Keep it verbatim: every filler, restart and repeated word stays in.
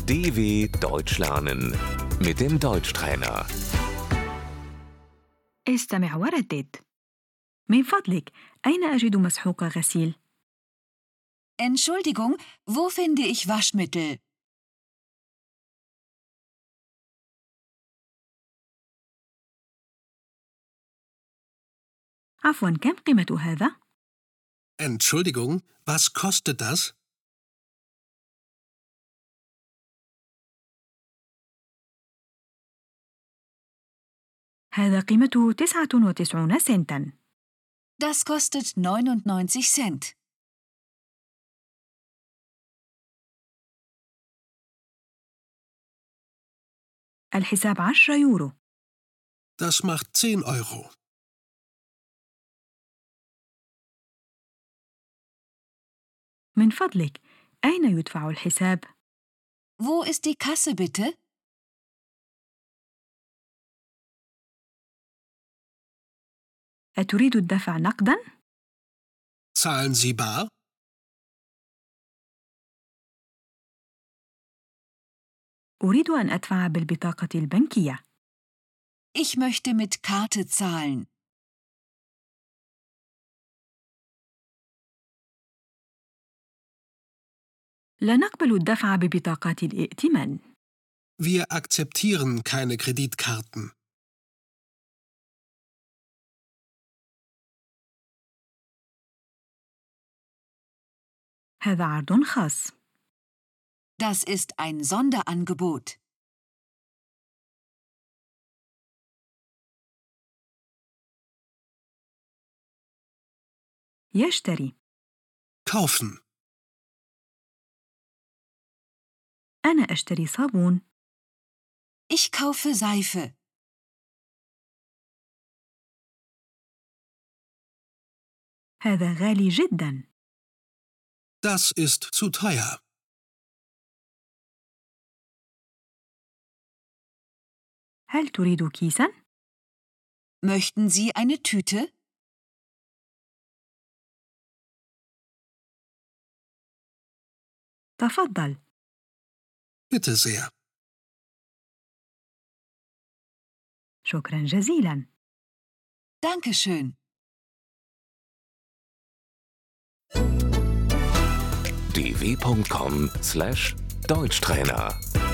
D W Deutsch lernen mit dem Deutschtrainer. استمع وردد. من فضلك، أين أجد مسحوق غسيل؟ Entschuldigung, wo finde ich Waschmittel? عفواً، كم قيمة هذا؟ Entschuldigung, was kostet das? هذا قيمته تسعة وتسعين سنتاً. Das kostet neunundneunzig Cent. الحساب عشرة يورو. Das macht zehn Euro. من فضلك، أين يدفع الحساب؟ Wo ist die Kasse bitte? أتريد الدفع نقداً؟ Zahlen Sie bar? أريد أن أدفع بالبطاقة البنكية. Ich möchte mit Karte zahlen. لا نقبل الدفع ببطاقات الائتمان. Wir akzeptieren keine Kreditkarten. هذا عرض خاص. Das ist ein Sonderangebot. يشتري. Kaufen. أنا أشتري صابون. Ich kaufe Seife. هذا غالي جداً. Das ist zu teuer. هل تريد كيساً؟ Möchten Sie eine Tüte? تفضل. Bitte sehr. شكراً جزيلاً. Dankeschön. d w punkt com slash Deutschtrainer